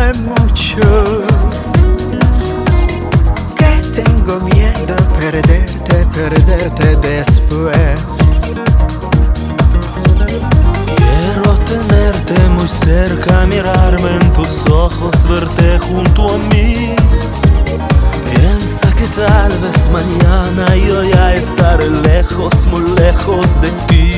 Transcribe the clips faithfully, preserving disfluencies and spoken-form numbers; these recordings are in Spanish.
Bésame mucho, que tengo miedo perderte, perderte después. Quiero tenerte muy cerca, mirarme en tus ojos, verte junto a mí. Piensa que tal vez mañana yo ya estaré lejos, muy lejos de ti.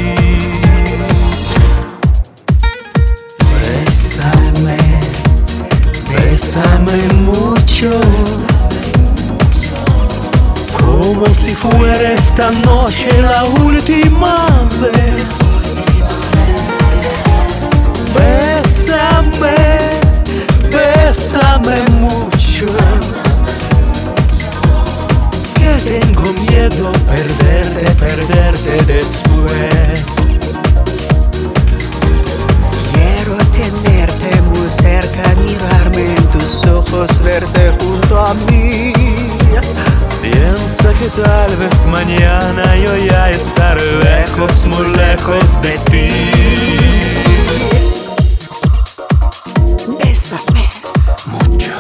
Bésame, bésame mucho, como si fuera esta noche la última vez. Bésame, bésame mucho, que tengo miedo perderte, perderte después. Quiero tenerte muy cerca, mirarme en tus ojos, verte junto a mí. Piensa que tal vez mañana yo ya estaré lejos, muy lejos de ti. Bésame Mucho,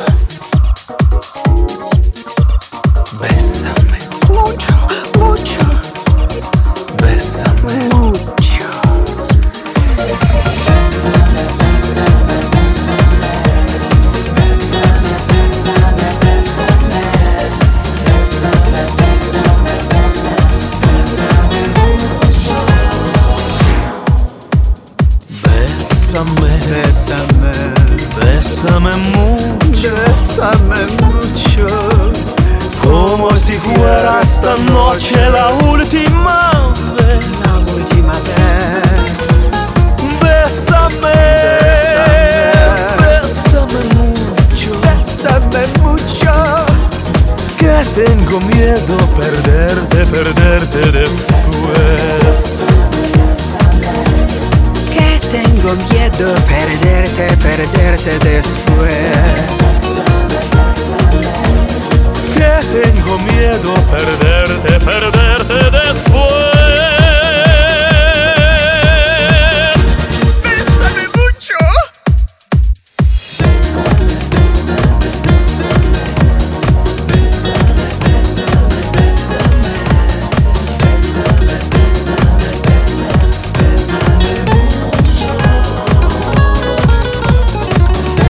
bésame mucho, mucho, bésame. mucho. Bésame, Bésame, bésame mucho, bésame mucho, como si fuera esta noche la última vez. la última vez. Bésame, bésame mucho, Bésame mucho, que tengo miedo perderte, perderte después. que tengo miedo perderte, perderte después. Que tengo miedo perderte, perderte después.